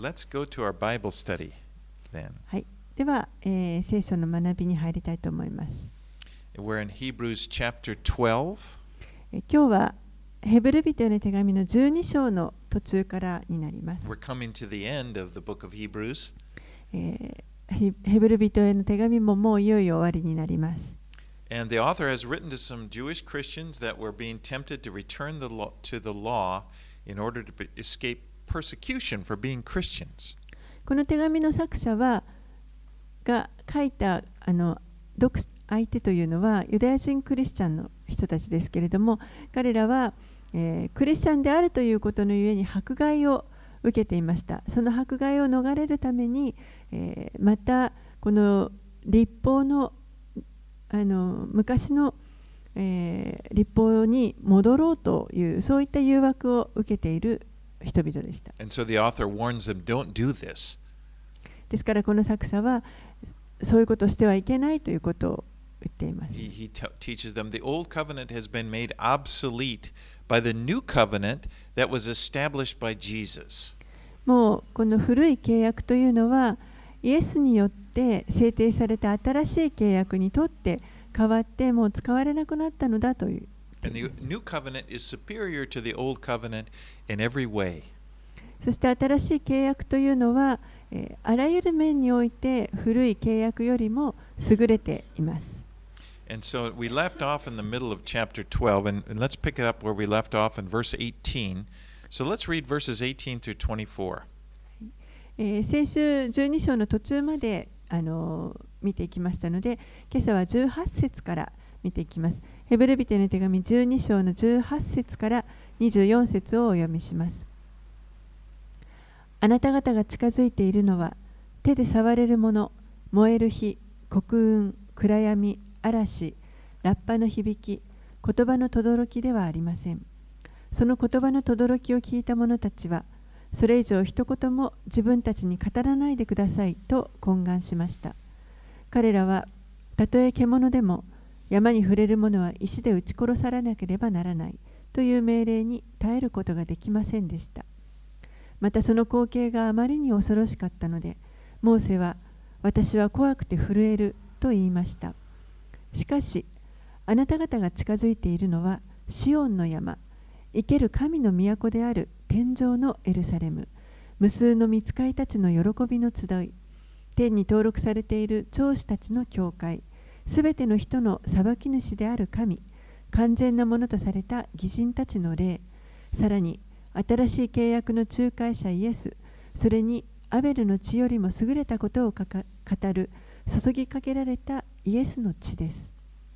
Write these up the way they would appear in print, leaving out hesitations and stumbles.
let's go to our Bible study then. はい、では、聖書の学びに入りたいと思います。 We're in Hebrews chapter 12. 今日はヘブル人への手紙の12章の途中からになります。 We're coming to the end of the book of Hebrews. ヘブル人への手紙ももういよいよ終わりになります。 And the author has written to some Jewish Christians that were being tempted to return to the law in order to escape persecution for being Christians. この手紙の作者が書いた相手というのはユダヤ人クリスチャンの人たちですけれども、彼らは、クリスチャンであるということのゆえに迫害を受けていました。その迫害を逃れるために、またこの律法の、昔の、律法に戻ろうというそういった誘惑を受けている人々でした。 And so the author warns them, don't do this. ですからこの作者はそういうことをしてはいけないということを言っています。 He teaches them the old covenant has been made obsolete by the new covenant that was established by Jesus. もうこの古い契約というのはイエスによって制定された新しい契約にとって変わってもう使われなくなったのだという。 And the new covenant is superior to the old covenant in every way. そして新しい契約というのはあらゆる面において古い契約よりも優れています。 And so we left off in the middle of chapter 12, and let's pick it up where we left off in verse 18. So let's read verses 18 through 24. 先週12章の途中まで見ていきましたので、今朝は18節から見ていきます。ヘブル人への手紙12章の18節から24節をお読みします。あなた方が近づいているのは手で触れるもの、燃える火、黒雲、暗闇、嵐、ラッパの響き、言葉の轟ではありません。その言葉の轟を聞いた者たちは、それ以上一言も自分たちに語らないでくださいと懇願しました。彼らは、たとえ獣でも山に触れる者は石で撃ち殺されなければならないという命令に耐えることができませんでした。またその光景があまりに恐ろしかったので、モーセは、私は怖くて震えると言いました。しかし、あなた方が近づいているのはシオンの山、生ける神の都である天上のエルサレム、無数の御使いたちの喜びの集い、天に登録されている長子たちの教会、すべての人の裁き主である神、完全なものとされた義人たちの霊、さらに新しい契約の仲介者イエス、それにアベルの血よりも優れたことを語る注ぎかけられたイエスの血です。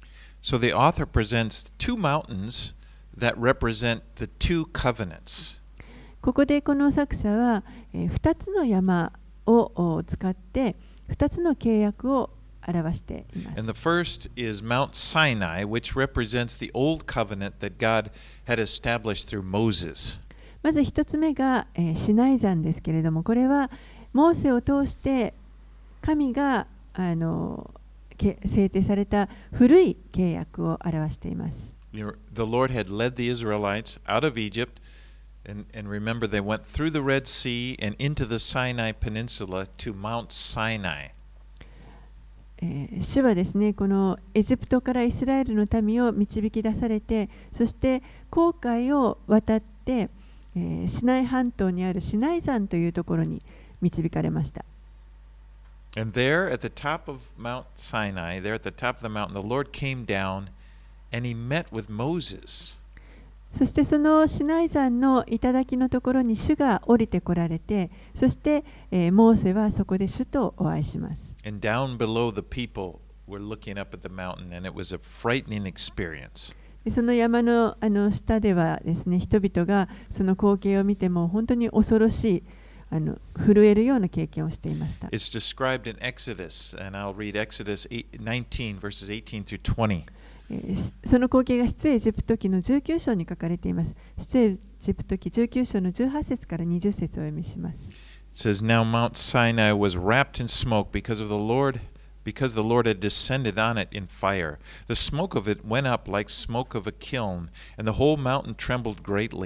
So the author presents two mountains that represent the two covenants. ここでこの作者は2つの山を使って2つの契約を表しています。 And the first is Mount Sinai, which represents the old covenant that God had established through Moses. まず1つ目がシナイ山ですけれども、これはモーセを通して神が制定された古い契約を表しています。 The Lord had led the Israelites out of Egypt, and remember they went through the Red Sea and into the Sinai Peninsula to Mount Sinai. 主はですね、このエジプトからイスラエルの民を導き出されて、そして紅海を渡って、シナイ半島にあるシナイ山というところに導かれました。 And there at the top of Mount Sinai, there at the top of the mountain, the Lord came down and he met with Moses. そしてそのシナイ山の頂のところに主が降りてこられて、そして、モーセはそこで主とお会いします。 And down below the people were looking up at the mountain, and it was a frightening experience. その山の下ではですね、人々がその光景を見ても本当に恐ろしい震えるような経験をしていました。 It's described in Exodus, and I'll read Exodus 19 verses 18 through 20. その光景が出エジプト記の19章に書かれています。出エジプト記19章の18節から20節をお読みします。 It says, Now Mount Sinai was wrapped in smoke because the Lord had descended on it in fire. The smoke of it went up like smoke of a kiln, and the whole mountain trembled greatly.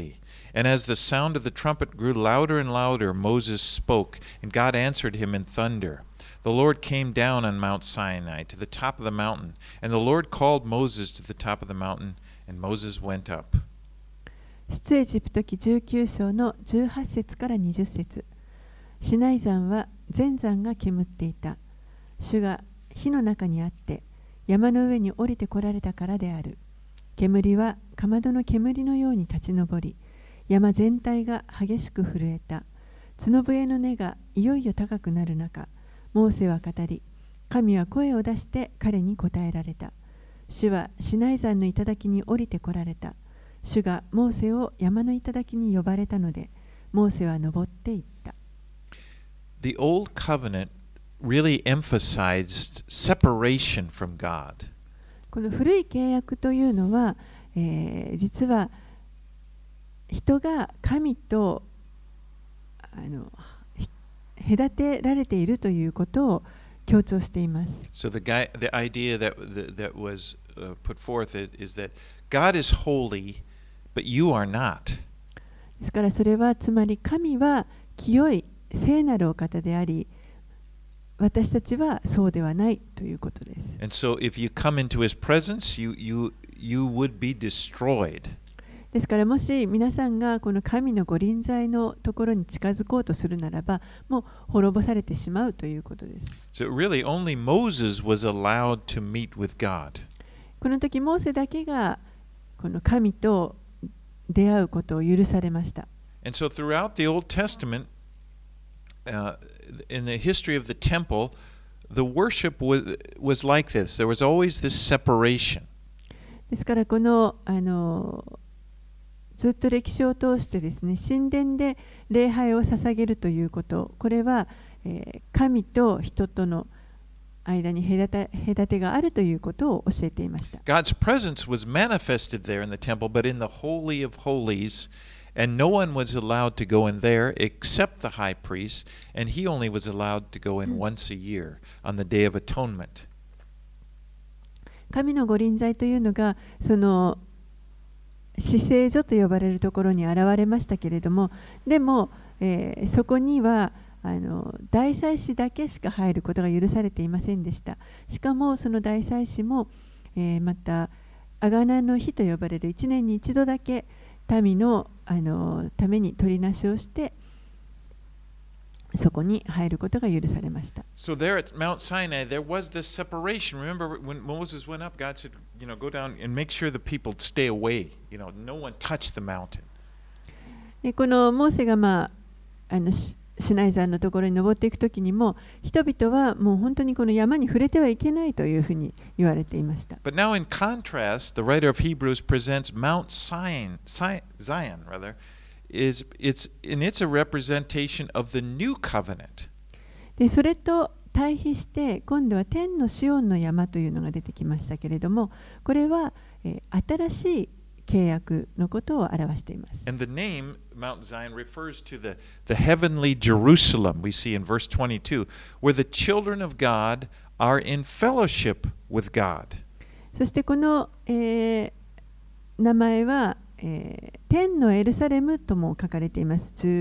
And as the sound of the trumpet grew louder and louder, Moses spoke, and God answered him in thunder. The Lord came down on Mount Sinai to the top of the mountain, and the Lord called Moses to the top of the mountain, and Moses went up. 出エジプト記19章の18節から20節。シナイ山は全山が煙っていた。主が火の中にあって山の上に降りてこられたからである。煙はかまどの煙のように立ち上り、山全体が激しく震えた。角笛の音がいよいよ高くなる中、モーセは語り、神は声を出して彼に答えられた。主はシナイ山の頂に降りてこられた。主がモーセを山の頂に呼ばれたので、モーセは登っていった。 The Old Covenant really emphasized separation from God. この古い契約というのは、実は人が神と隔てられているということを強調しています。 So the idea that was put forth is that God is holy, but you are not. ですからそれはつまり神は清い聖なるお方であり、私たちはそうではないということです。 And so if you come into his presence, you would be destroyed. ですからもし皆さんがこの神の御臨在のところに近づこうとするならば、もう滅ぼされてしまうということです。 So really only Moses was allowed to meet with God. この時モーセだけがこの神と出会うことを許されました。 And so throughout the Old Testament, in the history of the temple, the worship was like this. There was always this separation. ですからこのずっと歴史を通してですね、神殿で礼拝を捧げるということ、これは、神と人との間に隔てがあるということを教えていました。 God's presence was manifested there in the temple, but in the Holy of Holies, and no one was allowed to go in there except the high priest, and he only was allowed to go in once a year on the Day of Atonement. 神の御臨在というのがその至聖所と呼ばれるところに現れましたけれども、でも、そこには大祭司だけしか入ることが許されていませんでした。しかもその大祭司も、また贖いの日と呼ばれる1年に1度だけ民の、ために取りなしをしてそこに入ることが許されました。 So there at Mount Sinai, there was this separation. Remember when Moses went up, God said, go down and make sure the people stay away. No one touch the mountain. でこのモーセが、シナイ山のところに登っていくときにも、人々はもう本当にこの山に触れてはいけないというふうに言われていました。 But now in contrast, the writer of Hebrews presents Mount Zion rather, it's a representation of the new covenant. でそれと対比して今度は天のシオンの山というのが出てきましたけれども、これは、新しい契約のことを表しています。 And the name Mount Zion refers to the heavenly Jerusalem we see in verse 22, where the children of God are in fellowship with God. そしてこの、名前は、天のエルサレムとも書かれています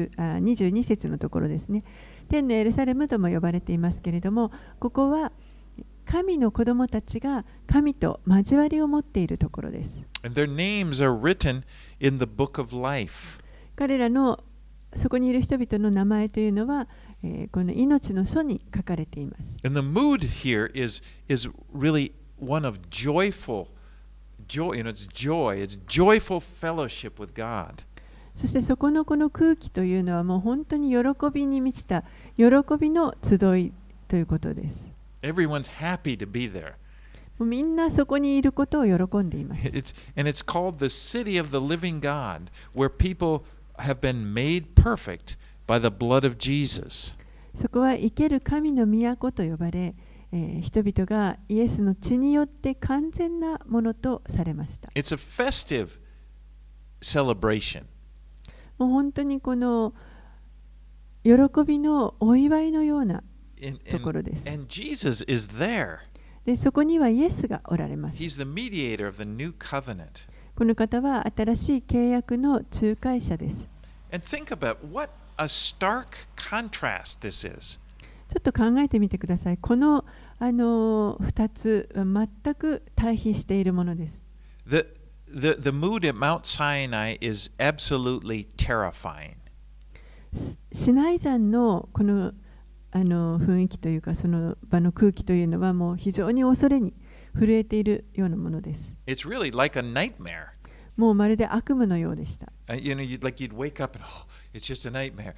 。22節のところですね。天のエルサレムとも呼ばれていますけれども、ここは神の子供たちが神と交わりを持っているところです。 And their names are written in the book of life. 彼らのそこにいる人々の名前というのは、この命の書に書かれています。 And the mood here is really one of joyful joy, it's joy, it's joyful fellowship with God. そしてそこのこの空気というのはもう本当に喜びに満ちた喜びの集いということです。 Everyone's happy to be there. もうみんなそこにいることを喜んでいます。 And it's called the city of the living God, where people have been made perfect by the blood of Jesus. そこは生ける神の都と呼ばれ、人々がイエスの血によって完全なものとされました。 It's a festive celebration. もう本当にこの喜びのお祝いのようなところです。 And Jesus is there. でそこにはイエスがおられます。 He's the mediator of the new covenant. この方は新しい契約の仲介者です。 And think about what a stark contrast this is. ちょっと考えてみてください。この2つは全く対比しているものです。 The mood at Mount Sinai is absolutely terrifying. シナイ山のこの雰囲気というか、その場の空気というのはもう非常に恐れに震えているようなものです。 It's really like a nightmare. もうまるで悪夢のようでした。 You'd wake up and, oh, it's just a nightmare.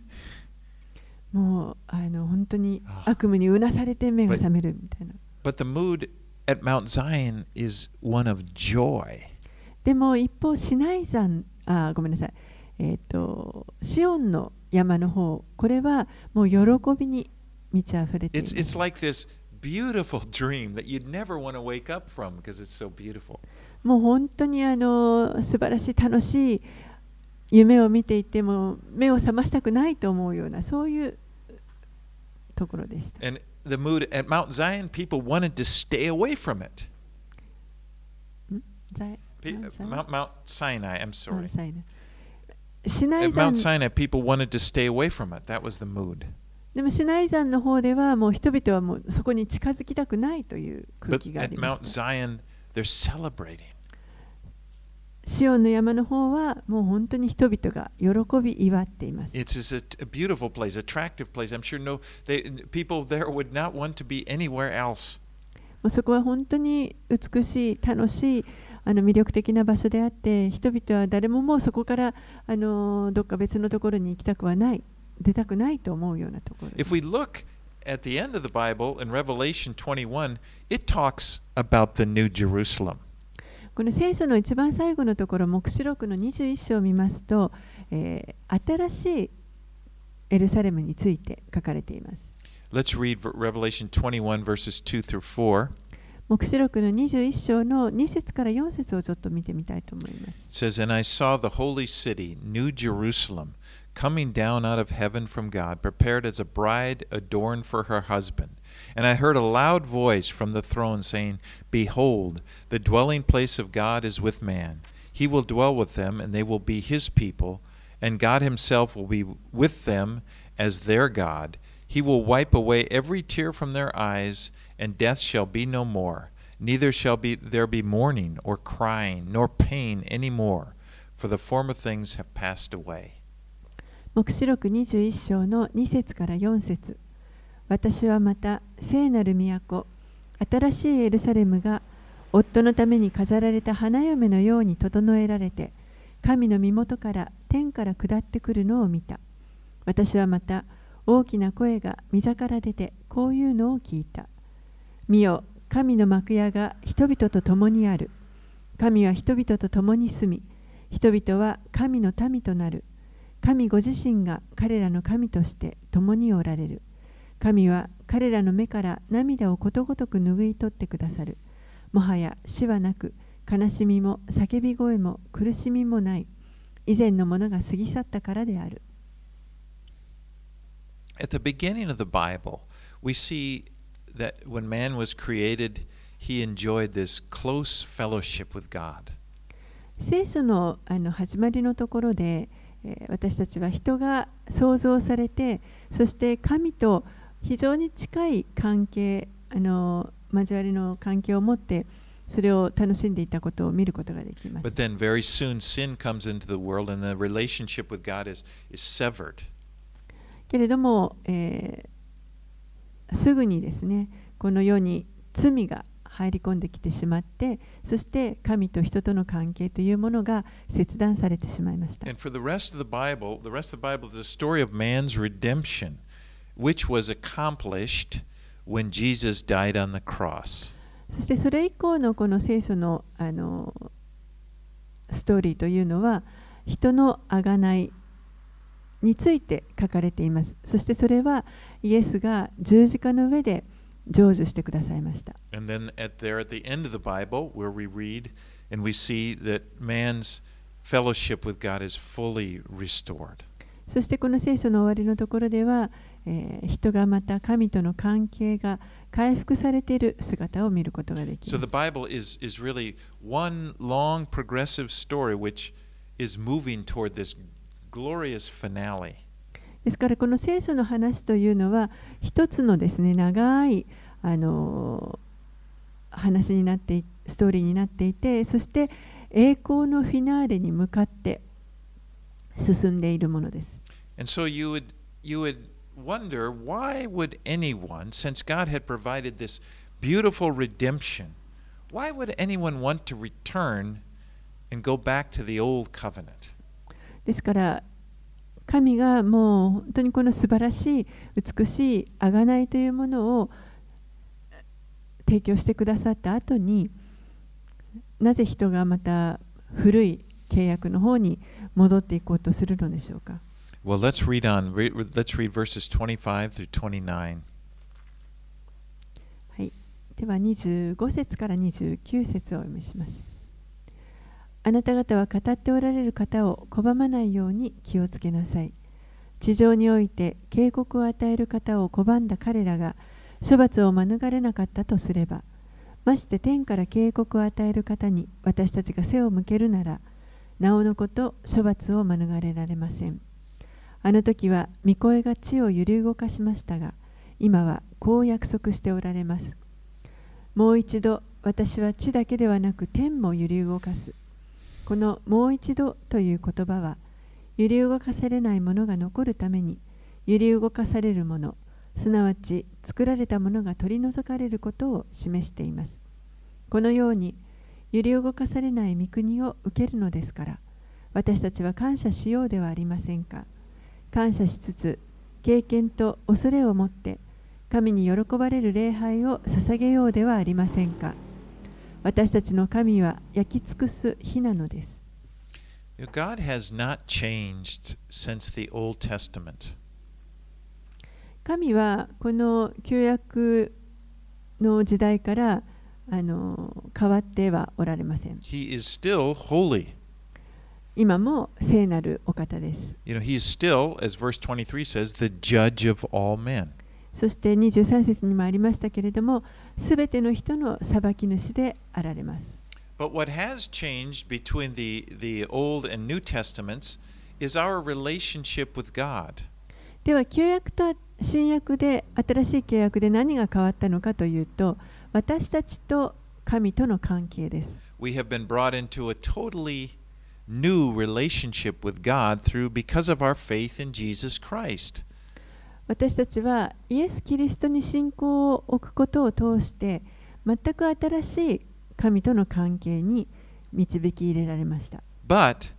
もう本当に悪夢にうなされて目が覚めるみたいな。 But the mood at Mount Zion is one of joy. でも一方、シナイ山、ごめんなさい。シオンの山の方、これはもう喜びに満ち溢れています。 It's like this beautiful dream that you'd never want to wake up from because it's so beautiful. もう本当に素晴らしい楽しい夢を見ていても目を覚ましたくないと思うようなそういうところでした。 And the mood at Mount Zion, people wanted to stay away from it. Mount Sinai, I'm sorry. At Mount Sinai, people wanted to stay away from it. That was the mood. でもシナイ山の方ではもう人々はもうそこに近づきたくないという空気がありました。 But at Mount Zion, they're celebrating. シオンの山の方はもう本当に人々が喜び祝っています。 It's a beautiful place, attractive place. I'm sure people there would not want to be anywhere else. もうそこは本当に美しい、楽しい、魅力的な場所であって、人々は誰ももうそこからどっか別のところに行きたくはない、出たくないと思うようなところです。 If we look at the end of the Bible in Revelation 21, it talks about the New Jerusalem. この聖書の一番最後のところ、黙示録の21章を見ますと、新しいエルサレムについて書かれています。 Let's read Revelation 21 verses 2 through 4. 黙示録の21章の2節から4節をちょっと見てみたいと思います。 It says, And I saw the holy city, New Jerusalem, coming down out of heaven from God, prepared as a bride adorned for her husband. And I heard a loud voice from the throne saying, Behold, the dwelling place of God is with man. He will dwell with them, and they will be his people, and God himself will be with them as their God. He will wipe away every tear from their eyes, and death shall be no more. Neither shall there be mourning or crying, nor pain any more, for the former things have passed away. 黙示録21章の2節から4節。私はまた聖なる都、新しいエルサレムが夫のために飾られた花嫁のように整えられて、神の身元から天から下ってくるのを見た。私はまた大きな声が御座から出てこういうのを聞いた。見よ、神の幕屋が人々と共にある。神は人々と共に住み、人々は神の民となる。神ご自身が彼らの神として共におられる。神は彼らの目から涙をことごとく拭い取ってくださる。もはや死はなく、悲しみも叫び声も苦しみもない。以前のものが過ぎ去ったからである。 At the beginning of the Bible, we see that when man was created, he enjoyed this close fellowship with God. 聖書の始まりのところで、私たちは人が創造されて、そして神と非常に近い関係、交わりの関係を持って、それを楽しんでいたことを見ることができます。 But then very soon sin comes into the world and the relationship with God is severed. けれども、すぐにですね、この世に罪が入り込んできてしまって、そして神と人との関係というものが切断されてしまいました。 And for the rest of the Bible is a story of man's redemption, which was accomplished when Jesus died on the cross. そしてそれ以降のこの聖書のストーリーというのは、人の贖いについて書かれています。そしてそれはイエスが十字架の上で成就してくださいました。 And then at the end of the Bible, where we read and we see that man's fellowship with God is fully restored. そしてこの聖書の終わりのところでは、 人がまた神との関係が回復されている姿を見ることができ So ま the す。 Bible is really one long progressive story which is moving toward this glorious finale. ですからこの聖書の話というのは一つのですね長い話になってストーリーになっていて、そして栄光のフィナーレに向かって進んでいるものです。 And so you would wonder, why would anyone, since God had provided this beautiful redemption, why would anyone want to return and go back to the old covenant? ですから神がもう本当にこの素晴らしい美しい贖いというものを提供してくださった後に、なぜ人がまた古い契約の方に戻っていこうとするのでしょうか。 Well, let's read on. Let's read verses 25 through 29. はい、では25節から29節をお読みします。あなた方は語っておられる方を拒まないように気をつけなさい。地上において警告を与える方を拒んだ彼らが処罰を免れなかったとすれば、まして天から警告を与える方に私たちが背を向けるなら、なおのこと処罰を免れられません。あの時は御声が地を揺り動かしましたが、今はこう約束しておられます。もう一度私は地だけではなく天も揺り動かす。このもう一度という言葉は、揺り動かされないものが残るために、揺り動かされるもの、すなわち作られたものが取り除かれることを示しています。このように揺り動かされない御国を受けるのですから、私たちは感謝しようではありませんか。感謝しつつ、経験と恐れを持って神に喜ばれる礼拝を捧げようではありませんか。私たちの神は焼き尽くす火なのです。 God has not changed since the Old Testament. 神はこの旧約の時代から変わってはおられません。 He is still holy. 今も聖なるお方です。 He is still, as verse 23 says, the judge of all men. そして23節にもありましたけれども、すべての人の裁き主であられます。 But what has changed between the Old and New Testaments is our relationship with God. では旧約と新約で新しい契約で何が変わったのかというと、私たちと神との関係です。 We have been brought into a totally new relationship with God because of our faith in Jesus Christ. 私たちはイエス・キリストに信仰を置くことを通して全く新しい神との関係に導き入れられました。 But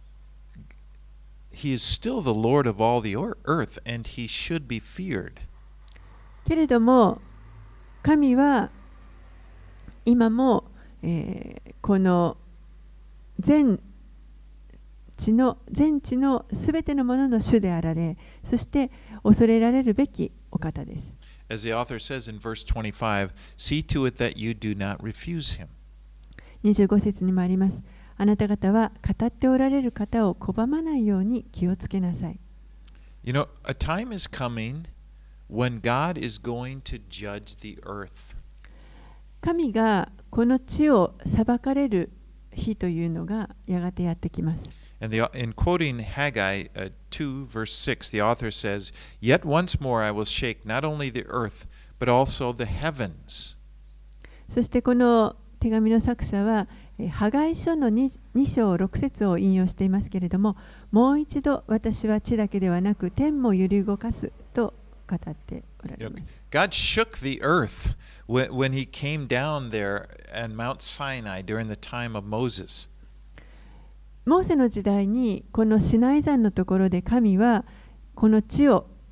He is still the Lord of all the earth, and He should be feared. けれども神は今も、この全地のすべてのものの主であられ、そして恐れられるべきお方です。 As the author says in verse 25, see to it that you do not refuse Him. 25節にもあります。あなた方は語っておられる方を拒まないように気をつけなさい。 You know, a time is coming when God is going to judge the earth. 神がこの地を裁かれる日というのがやがてやってきます。 And in quoting Haggai 2, verse 6, the author says, Yet once more I will shake not only the earth, but also the heavens. そしてこの手紙の作者は、ハガイ書の 2章6節を引用していますけれども、もう一度私は地だけではなく天も揺り動かすと語っておられます。 God shook the earth when He came down there at Mount Sinai during the time of Moses. モーセの時代にこのシナイ山のところで神がこのシ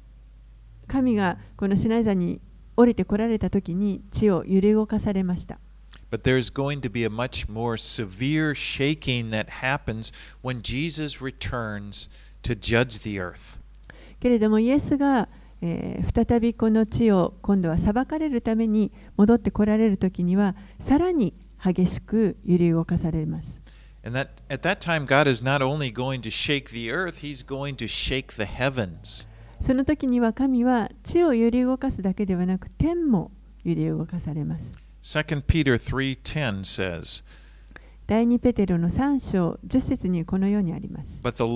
ナイ山に降りてこられたときに地を揺り動かされました。 But there's going to be a much more severe shaking that happens when Jesus returns to judge the earth. けれどもイエスが、再びこの地を今度は裁かれるために戻ってこられるときにはさらに激しく揺り動かされます。 And at that time, God is not only going to shake the earth, He's going to shake the heavens. その時には神は地を揺り動かすだけではなく天も揺り動かされます。 2 Peter 3:10 says, 第2ペテロの3章10節にこのようにあります。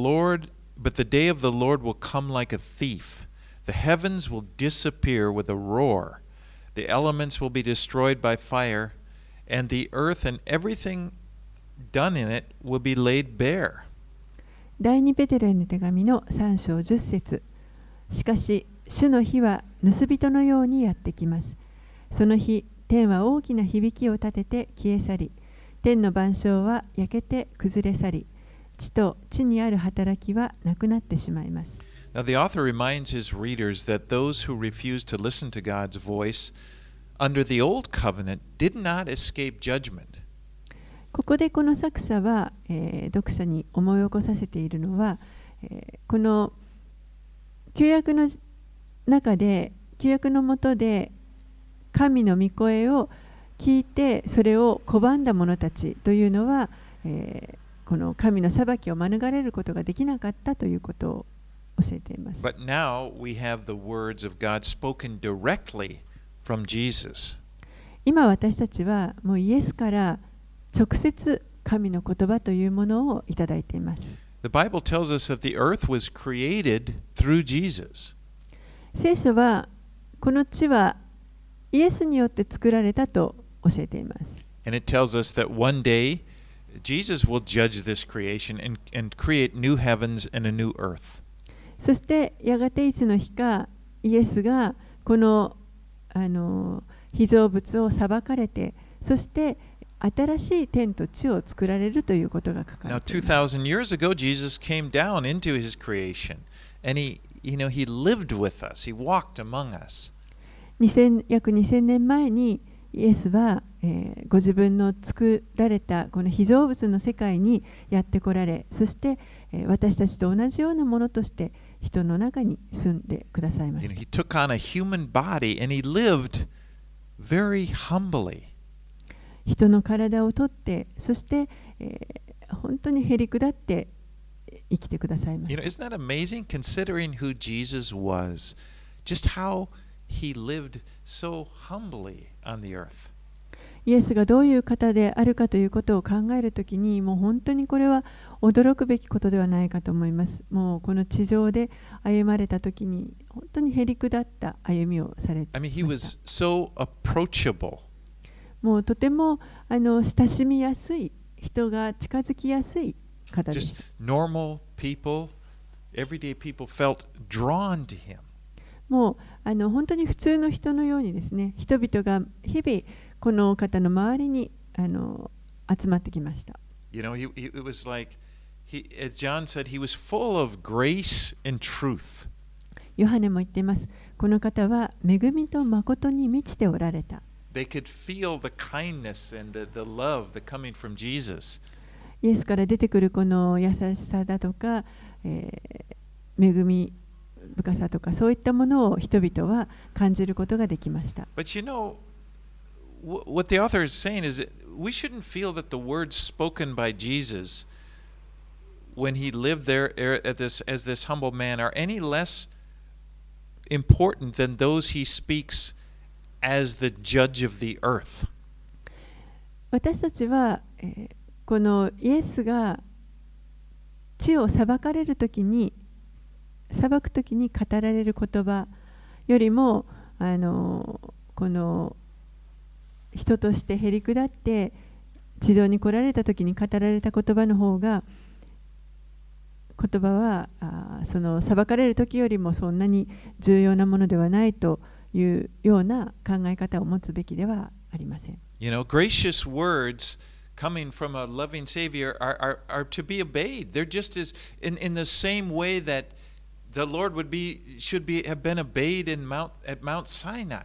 But the day of the Lord will come like a thief. The heavens will disappear with a roar. The elements will be destroyed by fire, and the earth and everything done in it will be laid bare. 第2ペテロへの手紙の3章10節。しかし、主の日は盗人のようにやってきます。その日、天は大きな響きを立てて消え去り、天の万象は焼けて崩れ去り、地と地にある働きはなくなってしまいます。 Now, the author reminds his readers that those who refused to listen to God's voice under the old covenant did not escape judgment. ここでこの作者は、読者に思い起こさせているのは、この旧約の中で、旧約の下で神の御声を聞いてそれを拒んだ者たちというのは、この神の裁きを免れることができなかったということを教えています。 But now we have the words of God spoken directly from Jesus. 今私たちはもうイエスから直接神の言葉というものをいただいています。 The Bible tells us that the earth was created through Jesus. 聖書はこの地はイエスによって作られたと教えています。 And it tells us that one day Jesus will judge this creation and create new heavens and a new earth. そしてやがていつの日かイエスがこの被造物を裁かれて、そして新しい天と地を作られるということが書か Now, れています。 2,000 years ago, Jesus came down into his creation, and he lived with us. He walked among us. 約2000年前にイエスは、ご自分の作られたこの被造物の世界にやってこられ、そして、私たちと同じようなものとして人の中に住んでくださいました。 He took on a human body, and he lived very humbly. 人の体をとって、そして、本当にへりくだって生きてくださいました。 Isn't that amazing considering who Jesus was? Just how he lived so humbly on the earth. イエスがどういう方であるかということを考えるときに、もう本当にこれは驚くべきことではないかと思います。もうこの地上で歩まれたときに、本当にへりくだった歩みをされていま I mean, し he た。 was so approachable. もうとても親しみやすい、人が近づきやすい方で Just す。 normal people, everyday people felt drawn to him. もう本当に普通の人のようにですね、人々が日々この方の周りに集まってきました。 You know, it was like, as John said, he was full of grace and truth. ヨハネも言っています。この方は恵みと誠に満ちておられた。 They could feel the kindness and the love that coming from Jesus. イエスから出てくるこの優しさだとか、恵み深さとか、そういったものを人々は感じることができました。 But you know, what the author is saying is that we shouldn't feel that the words spoken by Jesus when he lived there as this humble man are any less important than those he speaks as the judge of the earth. 私たちは、このイエスが地を裁かれるときに、裁くときに語られる言葉よりも、この人としてへりくだって地上に来られたときに語られた言葉の方が、言葉はその裁かれるときよりもそんなに重要なものではないというような考え方を持つべきではありません。 You know, gracious words coming from a loving Savior are to be obeyed. They're just as in the same way that the Lord have been obeyed at Mount Sinai.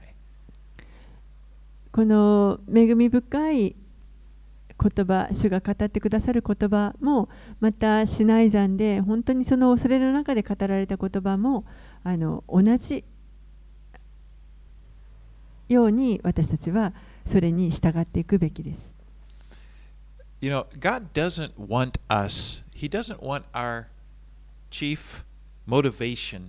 この恵み深い言葉、主が語ってくださる言葉も、またシナイ山で本当にその恐れの中で語られた言葉も同じように私たちはそれに従っていくべきです。 You know, God doesn't want us, He doesn't want our chief motivation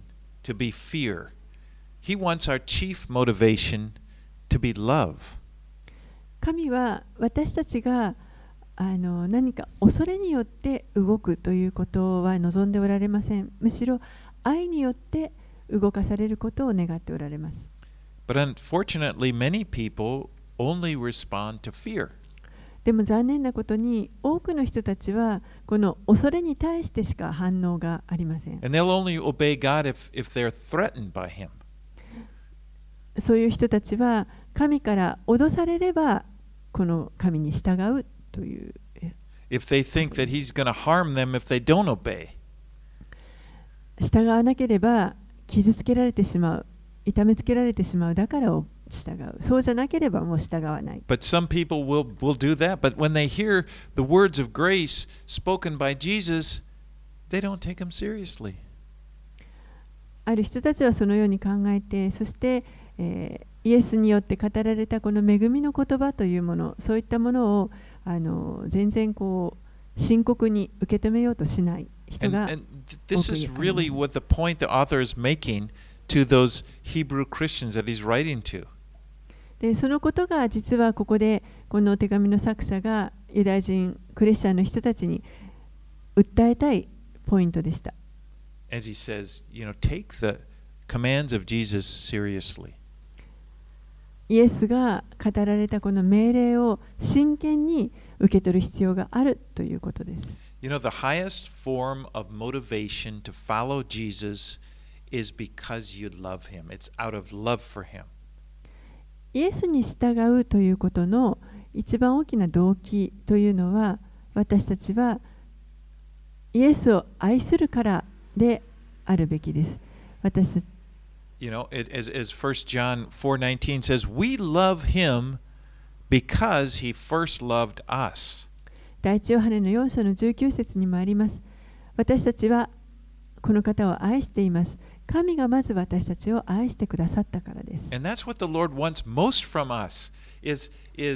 to be fear. He wants our chief motivation to be love. 神は私たちが何か恐れによって動くということは望んでおられません。むしろ愛によって動かされることを願っておられます。 But unfortunately, many people only respond to fear. でも残念なことに多くの人たちはこの恐れに対してしか反応がありません。 And they'll only obey God if they're threatened by Him. そういう人たちは神から脅されればこの神に従うという。 If they think that He's going to harm them if they don't obey. 従わなければ傷つけられてしまう、痛めつけられてしまう、だから従う。そうじゃなければもう従わない。 But some people will do that. But when they hear the words of grace spoken by Jesus, they don't take Him seriously. ある人たちはそのように考えて、そして、イエスによって語られたこの恵みの言葉というもの、そういったものを全然深刻に受け止めようとしない人が多くいます。 This is really what the point the author is making to those Hebrew Christians that he's writing to. でそのことが実はここでこの手紙の作者がユダヤ人クリスチャンの人たちに訴えたいポイントでした。 As he says, take the commands of Jesus seriously. イエスが語られたこの命令を真剣に受け取る必要があるということです。 The highest form of motivation to follow Jesus is because you love Him. It's out of love for Him. イエスに従うということの一番大きな動機というのは、私たちはイエスを愛するからであるべきです。私たち as 1 John 4:19 says, we love Him because He first loved us. 第一ヨハネの4章の19節にもあります。私たちはこの方を愛しています。神がまず私たちを愛してくださったからです。 And that's what the Lord wants most from us is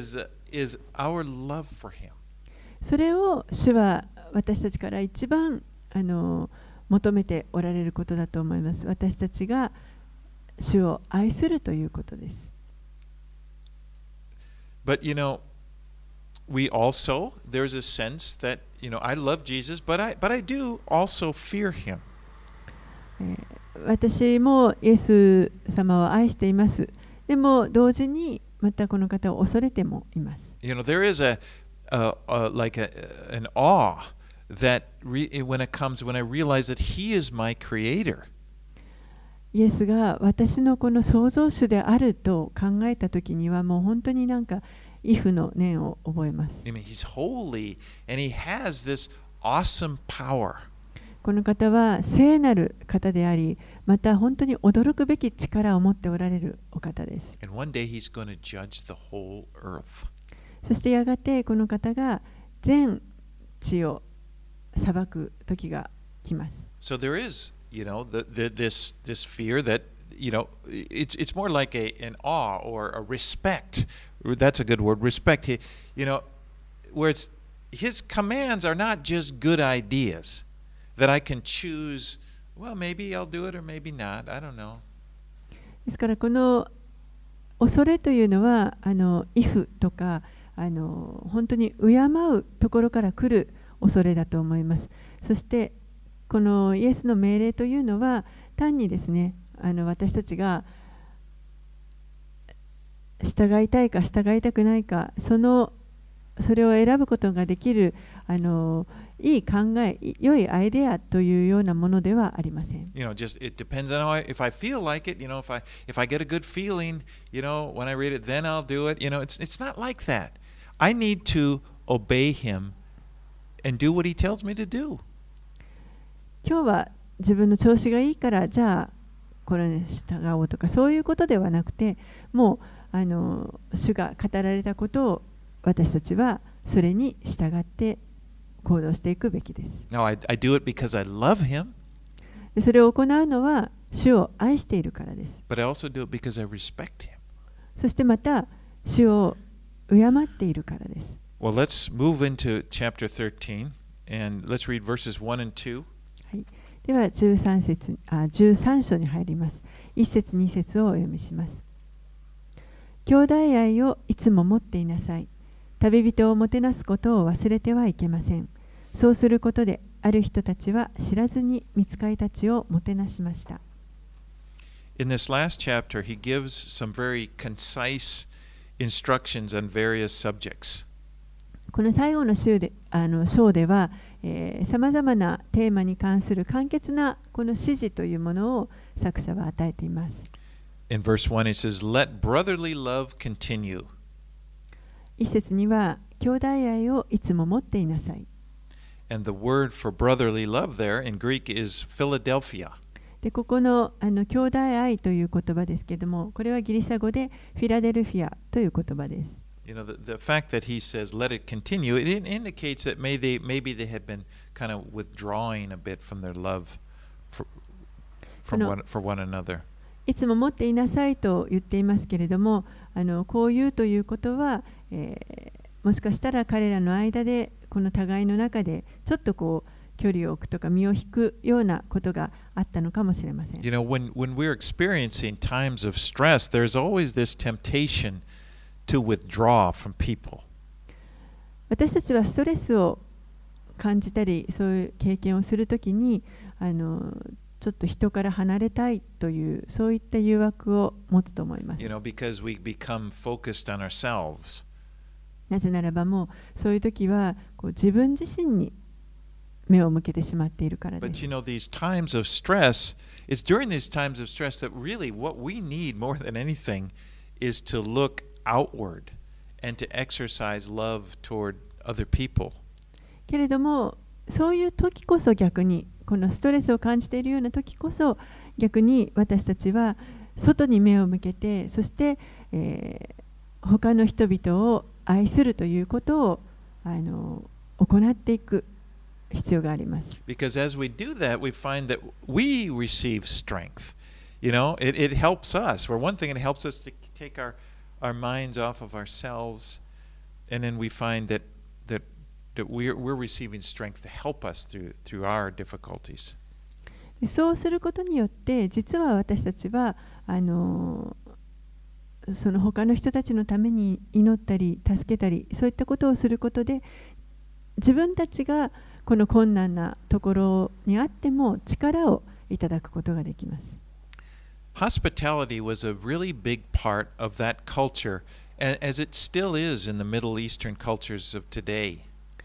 our love for Him. それを主は私たちから一番求めておられることだと思います。私たちが主を愛するということです。 But we also, there's a sense that, I love Jesus, but I do also fear Him. 私もイエス様を愛しています。でも同時にまたこの方を恐れてもいます。 There is an awe that when I realize that He is my creator. イエスが私のこの創造主であると考えたときにはもう本当に畏怖の念を覚えます。 He's holy and He has this awesome power. この方は聖なる方であり、また本当に驚くべき力を持っておられるお方です。 And one day He's going to judge the whole earth. そしてやがてこの方が全地を裁く時が来ます。 So there is, this fear that, it's more like an awe or a respect. That's a good word, respect. Where His commands are not just good ideas that I can choose, well, maybe I'll do it or maybe not. I don't know. ですからこの恐れというのは畏怖とか本当に敬うところから来る恐れだと思います。そしてこのイエスの命令というのは単にですね、私たちが従いたいか従いたくないか、それを選ぶことができるいい考え、良いアイデアというようなものではありません。 Just it depends on if I feel like it. If I get a good feeling, when I read it, then I'll do it. It's not like that. I need to obey Him and do what He tells me to do. 今日は自分の調子がいいからじゃあこれに従おうとかそういうことではなくて、もう主が語られたことを私たちはそれに従って行動していくべきです。 Now I do it because I love Him. それを行うのは主を愛しているからです。 But I also do it because I respect Him. そしてまた主を敬っているからです。 Well, let's move into chapter 13 and let's read verses 1 and 2. はい、 では13章に入ります。1節2節をお読みします。兄弟愛をいつも持っていなさい。旅人をもてなすことを忘れてはいけません。そうすることで、ある人たちは知らずに御使いたちをもてなしました。 In this last chapter, he gives some very concise instructions on various subjects. この最後の章では、さまざまなテーマに関する簡潔なこの指示というものを作者は与えています。 In verse 1, it says, Let brotherly love continue. 一節には、兄弟愛をいつも持っていなさい。 And the word for brotherly love there in Greek is Philadelphia. でここの兄弟愛という言葉ですけれども、これはギリシャ語でフィラデルフィアという言葉です。 You know, the fact that he says, let it continue, it indicates that maybe they had been kind of withdrawing a bit from their love for one another. いつも持っていなさいと言っていますけれども、こう言うということは、もしかしたら彼らの間で、この互いの中で、ちょっとこう、距離を置くとか身を引くようなことがあったのかもしれません。 You know, when we're experiencing times of stress, there's always this temptation to withdraw from people. 私たちはストレスを感じたり、そういう経験をするときに、ちょっと人から離れたいという、そういった誘惑を持つと思います。 You know, because we become focused on ourselves. なぜならばもう、そういうときはこう自分自身に目を向けてしまっているからです。 But you know, these times of stress, it's during these times of stress that really what we need more than anything is to look outward and to exercise love toward other people. けれども、そういう時こそ逆に、このストレスを感じているような時こそ、逆に私たちは外に目を向けて、そして、他の人々を愛するということを行っていく必要があります。 Because as we do that, we find that we receive strength. You know, it helps us. For one thing, it helps us to take our minds off of ourselves, and then we find that we're receiving strength to help us through our difficulties. そうすることによって、実は私たちはその他の人たちのために祈ったり助けたり、そういったことをすることで、自分たちがこの困難なところにあっても力をいただくことができます。 Hospitality was a really big part of that culture, as it still is in the Middle Eastern cultures of today.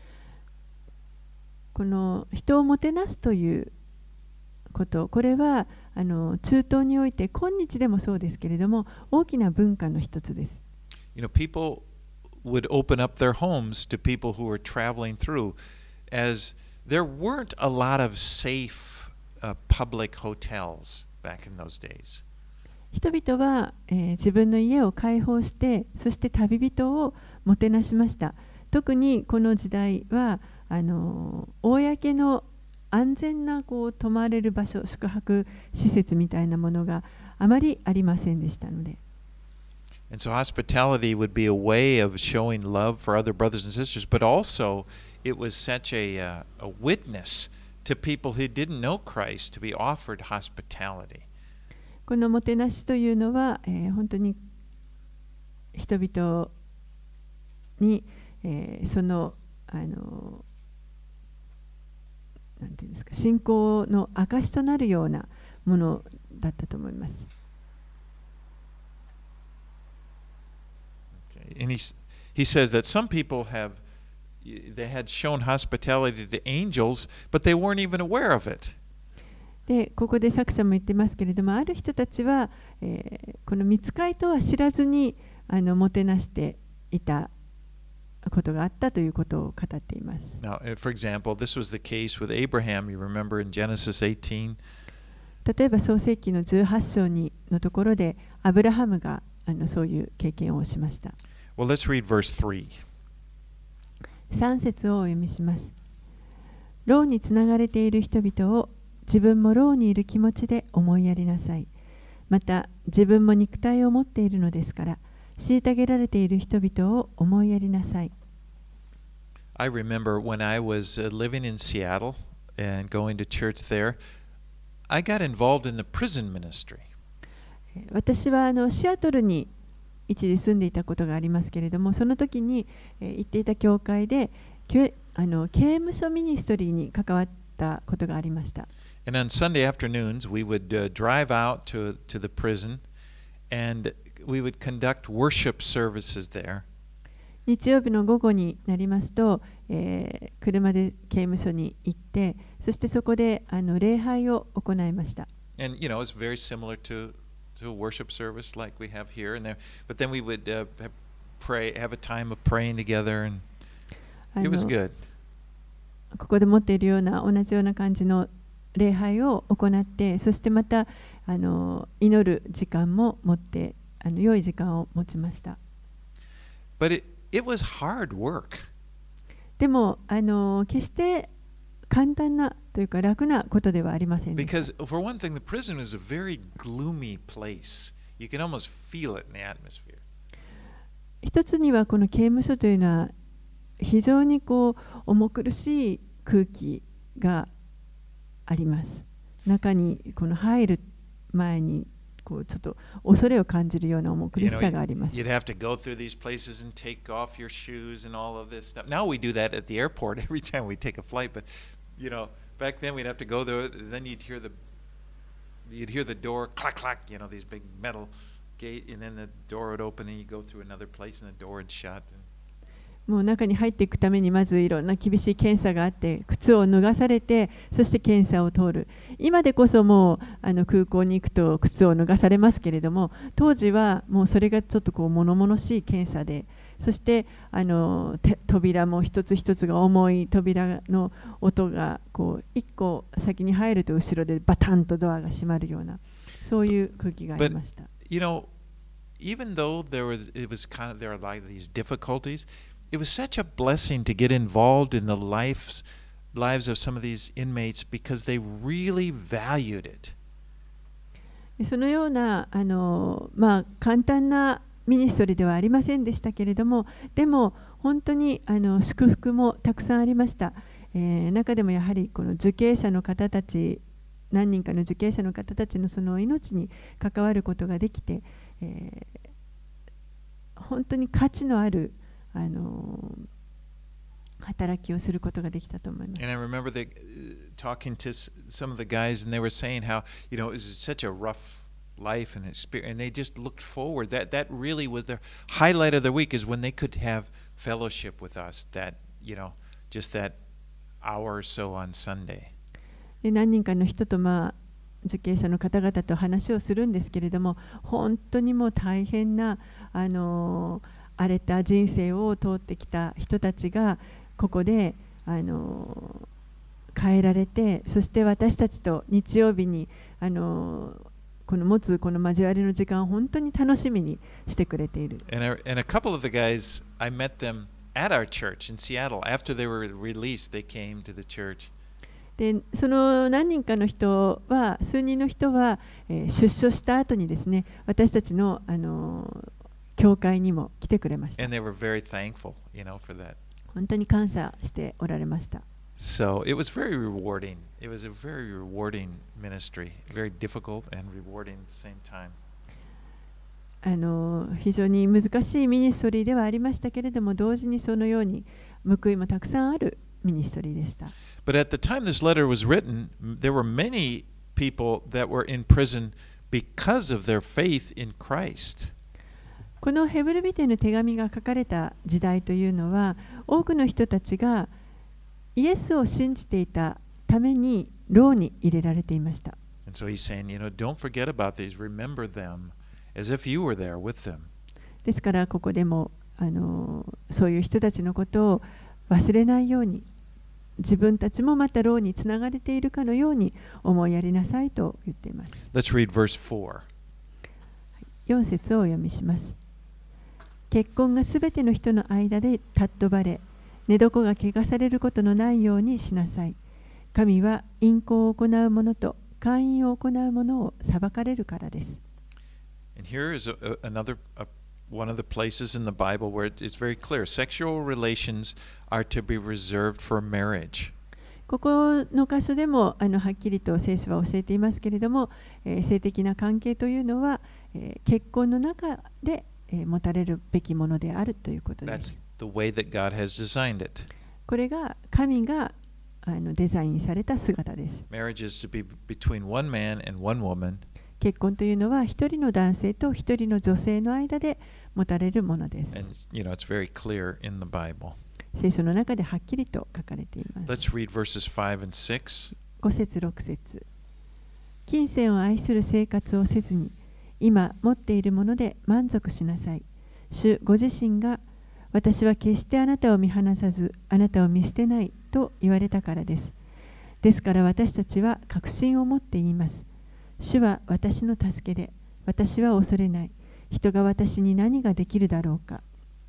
この人をもてなすということ、これは中東において今日でもそうですけれども、大きな文化の一つです。 You know, people would open up their homes to people who were traveling through, as there weren't a lot of safe public hotels back in those days. 人々は、自分の家を開放して、そして旅人をもてなしました。特にこの時代は公の安全な泊まれる場所、宿泊施設みたいなものがあまりありませんでしたので。 And so hospitality would be a way of showing love for other brothers and sisters, but also it was such a witness to people who didn't know Christ to be offered hospitality. このもてなしというのは、本当に人々に、そのなんていうんですか、信仰の証となるようなものだったと思います。 And he says that some people they had shown hospitality to angels, but they weren't even aware of it. で、ここで作者も言ってますけれども、ある人たちは、この御使いとは知らずにもてなしていたことがあったということを語っています。 Now, for example, this was the case with Abraham. You remember in Genesis 18? 例えば創世記の18章のところで、アブラハムがそういう経験をしました。 Well, let's read verse 3. 3節をお読みします。牢につながれている人々を自分も牢にいる気持ちで思いやりなさい。また自分も肉体を持っているのですから、虐げられている人々を思いやりなさい。 I remember when I was living in Seattle and going to church there, I got involved in the prison ministry. 私はシアトルに一時住んでいたことがありますけれども、その時に行っていた教会で刑務所ミニストリーに関わったことがありました。 And on Sunday afternoons, we would drive out to the prison and we would conduct worship services there. 日曜日の午後になりますと、車で刑務所に行って、そしてそこで礼拝を行いました。 And you know, it's very similar to a worship service like we have here and there. But then we would have a time of praying together, and it was good. ここで持っているような同じような感じの礼拝を行って、そしてまた祈る時間も持って、良い時間を持ちました。 But it was hard work. でも決して簡単なというか楽なことではありませんでした。 Because for one thing, the prison was a very gloomy place. You can almost feel it in the atmosphere. 一つにはこの刑務所というのは非常に重苦しい空気があります。中に入る前にちょっと恐れを感じるような重苦しさがあります。 You'd have to go through these places and take off your shoes and all of this stuff. Now we do that at the airport every time we take a flight, but you know, back then we'd have to go there. Then you'd hear the door clack clack. You know, these big metal gate, and then the door would open and you go through another place and the door would shut. もう中に入っていくためにまずいろんな厳しい検査があって、靴を脱がされて、そして検査を通る。今でこそもう空港に行くと靴を脱がされますけれども、当時はもうそれがちょっと物々しい検査で、そして扉も一つ一つが重い扉の音が一個先に入ると後ろでバタンとドアが閉まるような、そういう空気がありました。 But you know, even though there were like these difficulties, it was such a blessing to get involved in the lives of some of these inmates because they really valued it. そのような簡単なミニストリーではありませんでしたけれども、でも本当に祝福もたくさんありました。中でもやはりこの受刑者の方たち、何人かの受刑者の方たちのその命に関わることができて、本当に価値のある働きをすることができたと思います。 And I remember talking to some of the guys, and they were saying how, you know, it was such a rough life and experience, and they just looked forward. That really was their highlight of the week, is when they could have fellowship with us. That, you know, just that hour or so on Sunday. で何人かの人と受刑者の方々と話をするんですけれども、本当にもう大変な荒れた人生を通ってきた人たちがここで変えられて、そして私たちと日曜日に持つこの交わりの時間を本当に楽しみにしてくれている。 And a couple of the guys, I met them at our church in Seattle. After they were released, they came to the church. でその何人かの人は、数人の人は、出所した後にですね、私たちの教会にも来てくれました。 And they were very thankful, you know, for that. 本当に感謝しておられました。 So it was very rewarding. It was a very rewarding ministry, very difficult and rewarding at the same time. 非常に難しいミニストリーではありましたけれども、同時にそのように報いもたくさんあるミニストリーでした。 But at the time this letter was written, there were many people that were in prison because of their faith in Christ. このヘブル人への手紙が書かれた時代というのは、多くの人たちがイエスを信じていたために牢に入れられていました。 And so he's saying, you know, don't forget about these, remember them as if you were there with them. ですからここでもそういう人たちのことを忘れないように、自分たちもまた牢につながれているかのように思いやりなさいと言っています。 Let's read verse 4. 4節をお読みします。結婚がすべての人の間で尊ばれ、寝床が汚されることのないようにしなさい。神は淫行を行う者と姦淫を行う者を裁かれるからです。 And here is one of the places in the Bible where it's very clear. Sexual relations are to be reserved for marriage. ここの箇所でもはっきりと聖書は教えていますけれども、性的な関係というのは、結婚の中で、持たれるべきものであるということで That's す。 the way that God has designed it. これが神がデザインされた姿です。 Marriage is to be between one man and one woman. 結婚というのは一人の男性と一人の女性の間で持たれるものです。 And, it's very clear in the Bible. 聖書の中ではっきりと書かれています。 Let's read verses 5 and 6. 5節6節。金銭を愛する生活をせずに、今持っているもので満足しなさい。主ご自身が、私は決してあなたを見放さず、あなたを見捨てないと言われたからです。ですから私たちは確信を持って言います。主は私の助けで、私は恐れない。人が私に何ができるだろうか。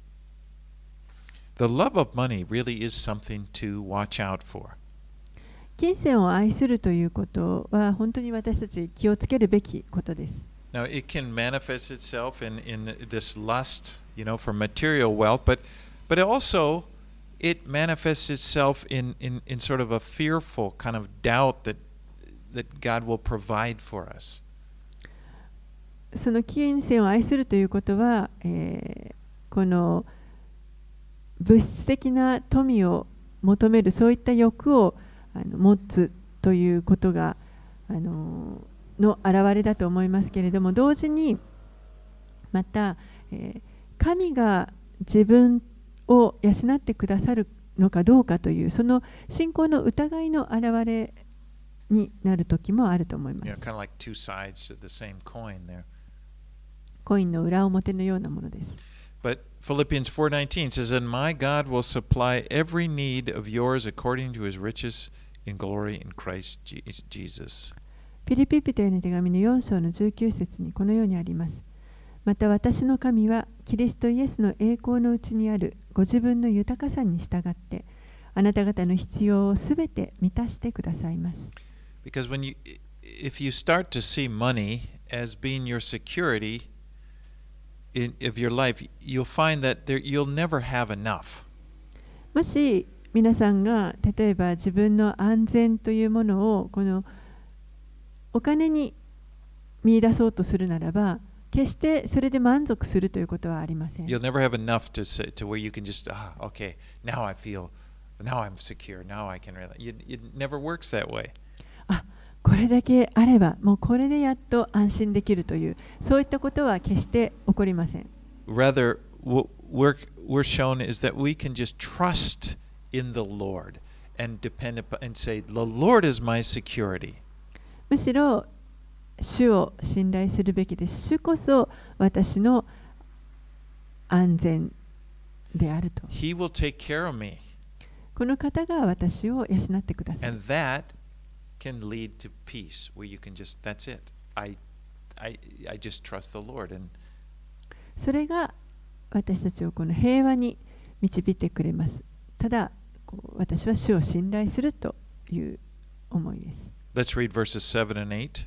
The love of money really is something to watch out for. 金銭を愛するということは本当に私たち気をつけるべきことです。 Now, it can manifest itself in this lust, for material wealth, but also it manifests itself in sort of a fearful kind of doubt that God will provide for us. その金銭を愛するということは、この物質的な富を求めるそういった欲を持つということがの表れだと思いますけれども、同時にまた、神が自分を養ってくださるのかどうかというその信仰の疑いの表れになる時もあると思います。 Kind of like two sides to the same coin there. コインの裏表のようなものです。 But Philippians 4:19 says, "And my God will supply every need of yours according to his riches in glory in Christ Jesus." ピリピ人への手紙の4章の19節にこのようにあります。また私の神はキリストイエスの栄光のうちにあるご自分の豊かさに従ってあなた方の必要をすべて満たしてくださいます。 Because if you start to see money as being your security of your life, you'll find that you'll never have enough. もし皆さんが例えば自分の安全というものをこのお金に見出そうとするならば、決してそれで満足するということはありません。 You'll never have enough to where you can just, okay, now I'm secure, now I can really. It never works that way. これだけあれば、もうこれでやっと安心できるという、そういったことは決して起こりません。 Rather, what we're shown is that we can just trust in the Lord and depend upon and say, "The Lord is my security." むしろ主を信頼するべきです。主こそ私の安全であると。 He will take care of me. この方が私を養ってください。 And that can lead to peace where you can just, that's it. I just trust the Lord. And それが私たちをこの平和に導いてくれます。ただ、私は主を信頼するという思いです。 let's read verses 7 and 8.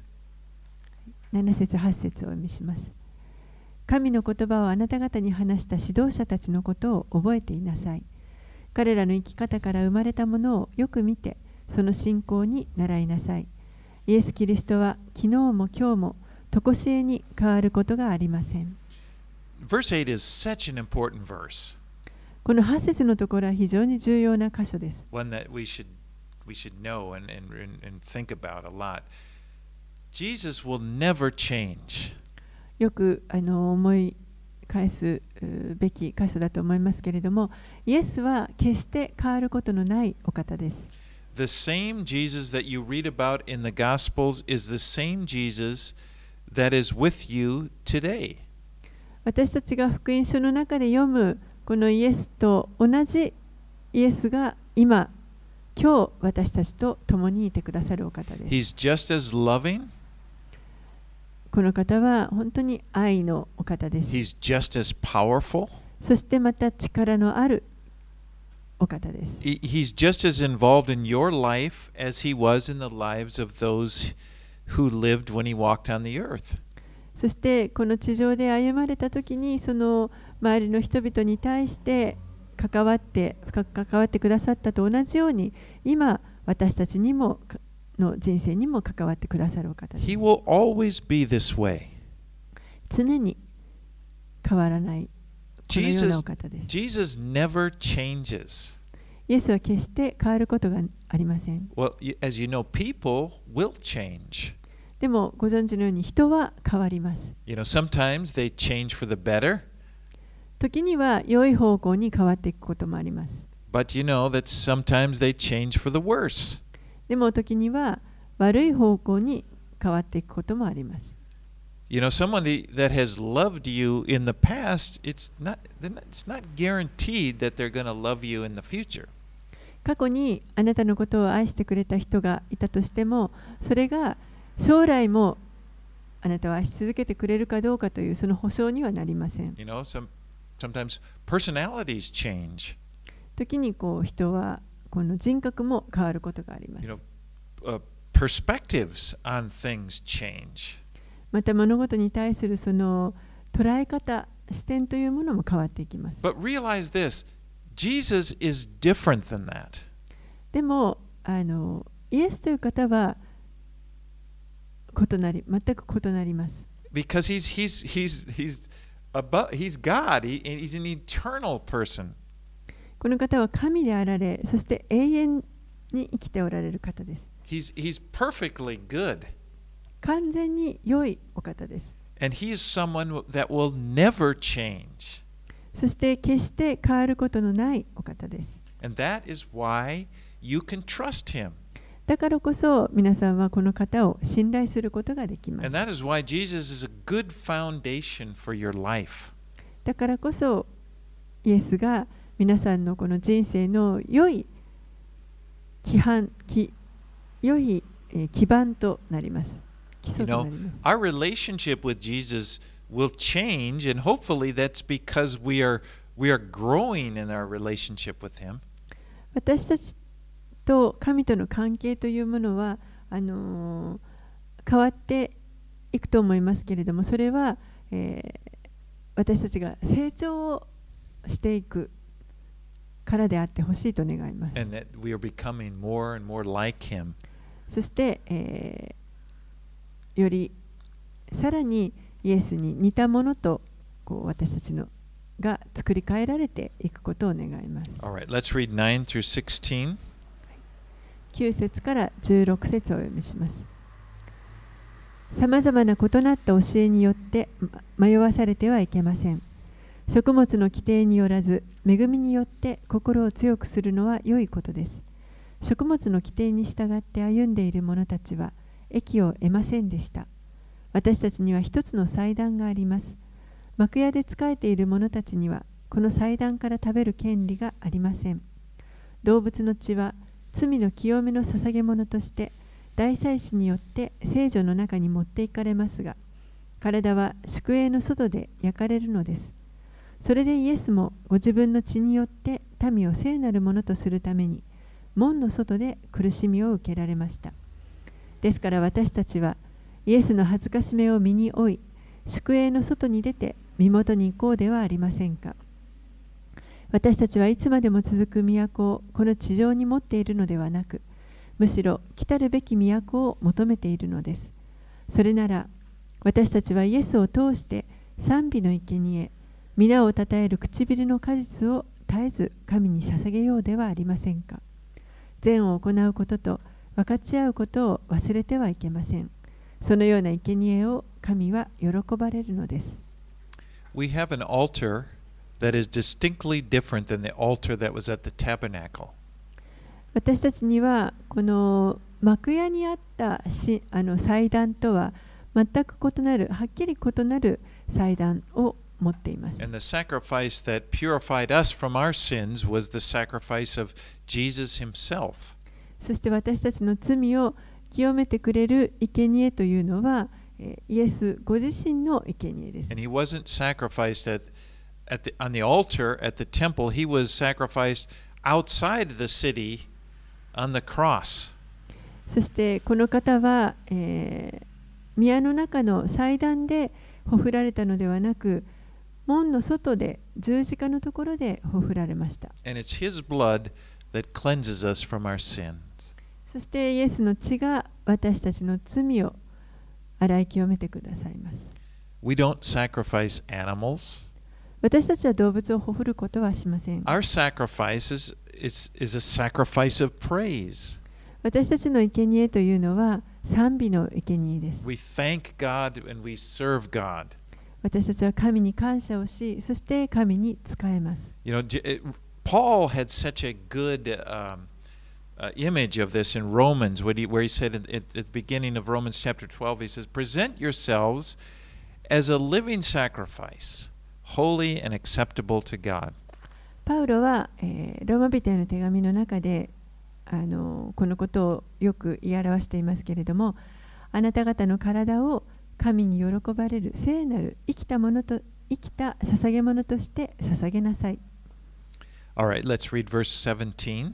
7節8節をお読みします。神の言葉をあなた方に話した指導者たちのことを覚えていなさい。彼らの生き方から生まれたものをよく見て、その信仰に倣いなさい。イエス・キリストは昨日も今日も常しえに変わることがありません。 Verse 8 is such an important verse. この8節のところは非常に重要な箇所です。 One that we should know and think about a lot. Jesus will never change. よく思い返すべき箇所だと思いますけれども、イエスは決して変わることのないお方です。 The same Jesus that you read about in the Gospels is the same Jesus that is with you today. 私たちが福音書の中で読むこのイエスと同じイエスが今日私たちと共にいてくださるお方です。 He's just as loving. この方は本当に愛のお方です。 He's just as powerful. そしてまた力のあるお方です。 He's just as involved in your life as he was in the lives of those who lived when he walked on the earth. そしてこの地上で歩まれたときにその周りの人々に対して関わってくださったと同じように今私たちにもの人生にも関わってくださるお方です。 He will always be this way. 常に変わらないこのようなお方です。 Jesus never changes. イエスは決して変わることがありません。 Well, as you know, people will change. でもご存知のように人は変わります。 You know, sometimes they change for the better, 時には良い方向に変わっていくこともあります。 but you know that sometimes they change for the worse. でも時には悪い方向に変わっていくこともあります。 You know, someone that has loved you in the past, it's not guaranteed that they're going to love you in the future. 過去にあなたのことを愛してくれた人がいたとしても、それが将来もあなたを愛し続けてくれるかどうかというその保証にはなりません。 You know, sometimes personalities change. 時に人はこの人格も変わることがあります。 You know, perspectives on things change. また物事に対するその捉え方、視点というものも変わっていきます。 But realize this, Jesus is different than that. でもイエスという方は全く異なります。 Because he's God. He's an eternal person. この方は神であられ、そして永遠に生きておられる方です。 He's perfectly good. 完全に良いお方です。 And he is someone that will never change. そして決して変わることのないお方です。 And that is why you can trust him. だからこそ皆さんはこの方を信頼することができます。 And that is why Jesus is a good foundation for your life. だからこそイエスが皆さんのこの人生の良い基盤となります。基礎となります。 Our relationship with Jesus will change, and hopefully that's because we are growing in our relationship with him. 私たちと神との関係というものは変わっていくと思いますけれども、それは、私たちが成長をしていくからであってほしいと願います。 And that we are becoming more and more like him. そして、よりさらにイエスに似たものと私たちのが作り変えられていくことを願います。 All right, let's read 9 through 16. 9節から16節をお読みします。さまざまな異なった教えによって迷わされてはいけません。食物の規定によらず、恵みによって心を強くするのは良いことです。食物の規定に従って歩んでいる者たちは益を得ませんでした。私たちには一つの祭壇があります。幕屋で仕えている者たちにはこの祭壇から食べる権利がありません。動物の血は罪の清めの捧げ物として大祭司によって聖所の中に持っていかれますが、体は宿営の外で焼かれるのです。それでイエスもご自分の血によって民を聖なるものとするために門の外で苦しみを受けられました。ですから私たちはイエスの恥ずかしめを身に負い、宿営の外に出て身元に行こうではありませんか。私たちはいつまでも続く都をこの地上に持っているのではなく、むしろ来たるべき都を求めているのです。それなら私たちはイエスを通して賛美の生贄、皆をたたえる唇の果実を絶えず神に捧げようではありませんか。善を行うことと分かち合うことを忘れてはいけません。そのような生贄を神は喜ばれるのです。 We have an altar that is distinctly different than the altar that was at the tabernacle. 私たちにはこの幕屋にあった祭壇とは全く異なる、はっきり異なる祭壇を持っています。 And the sacrifice that purified us from our sins was the sacrifice of Jesus himself. そして私たちの罪を清めてくれる生贄というのはイエスご自身の生贄です。 And he wasn't sacrificed on the altar at the temple, he was sacrificed outside the city on the cross. そしてこの方は、宮の中の祭壇でほふられたのではなく、門の外で十字架のところでほふられました。 And it's his blood that cleanses us from our sins. そしてイエスの血が私たちの罪を洗い清めてくださいます。 We don't sacrifice animals. 私たちは動物をほふることはしません。 Our sacrifice is a sacrifice of praise. 私たちの生贄というのは賛美の生贄です。 We thank God and we serve God. 私たちは神に感謝をし、そして神に仕えます。 Paul had such a good image of this in Romans, where he said at the beginning of Romans chapter 12, he says, "Present yourselves as a living sacrifice, holy and acceptable to God." パウロは、ローマ人への手紙の中でこのことをよく言い表していますけれども、あなた方の体を神に喜ばれる聖なる生きた捧げ物として捧げなさい。 All right, let's read verse 17.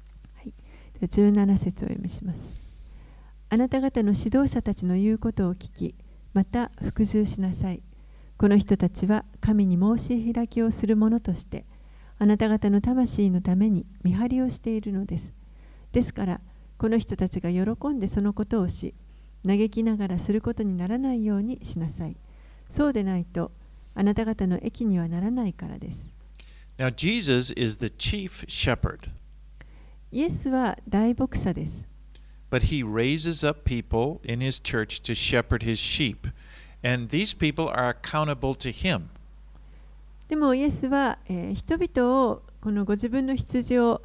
17節をお読みします。あなた方の指導者たちの言うことを聞き、また服従しなさい。この人たちは神に申し開きをする者として、あなた方の魂のために見張りをしているのです。ですから、この人たちが喜んでそのことをし、嘆きながらすることにならないようにしなさい。そうでないと、あなた方の益にはならないからです。 Now, Jesus is the chief shepherd, イエスは大牧者です。 but he raises up people in his church to shepherd his sheep, and these people are accountable to him. でもイエスは、人々をこのご自分の羊を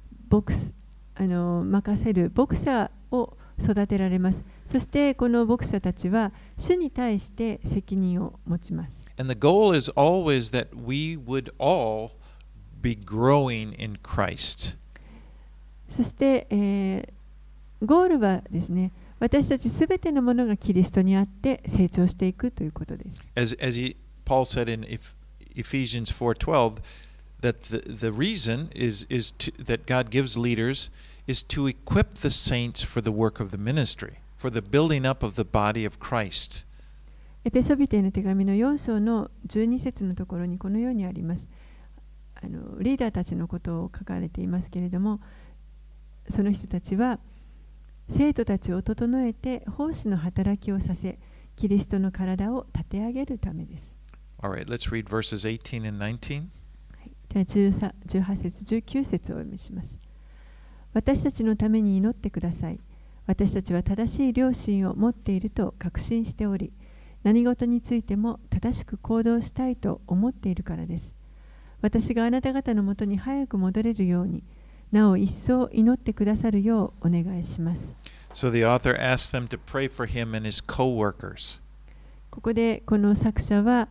任せる牧者を育てられます。そしてこの牧者たちは主に対して責任を持ちます。 And the goal is always that we would all be growing in Christ. そして、ゴールはですね、私たちすべてのものがキリストにあって成長していくということです。 Paul said in Ephesians 4:12 that the reason that God gives leaders is to equip the saints for the work of the ministry, for the building up of the body of Christ. エペソビテの手紙の4章の12節のところにこのようにあります。リーダーたちのことを書かれていますけれども、その人たちは生徒たちを整えて奉仕の働きをさせ、キリストの体を立て上げるためです。 All right, let's read verses 18 and 19. では18節19節をお読みします。私たちのために祈ってください。私たちは正しい良心を持っていると確信しており、何事についても正しく行動したいと思っているからです。私があなた方のもとに早く戻れるように、なお一層祈ってくださるようお願いします。 So the author asks them to pray for him and his co-workers. ここでこの作者は、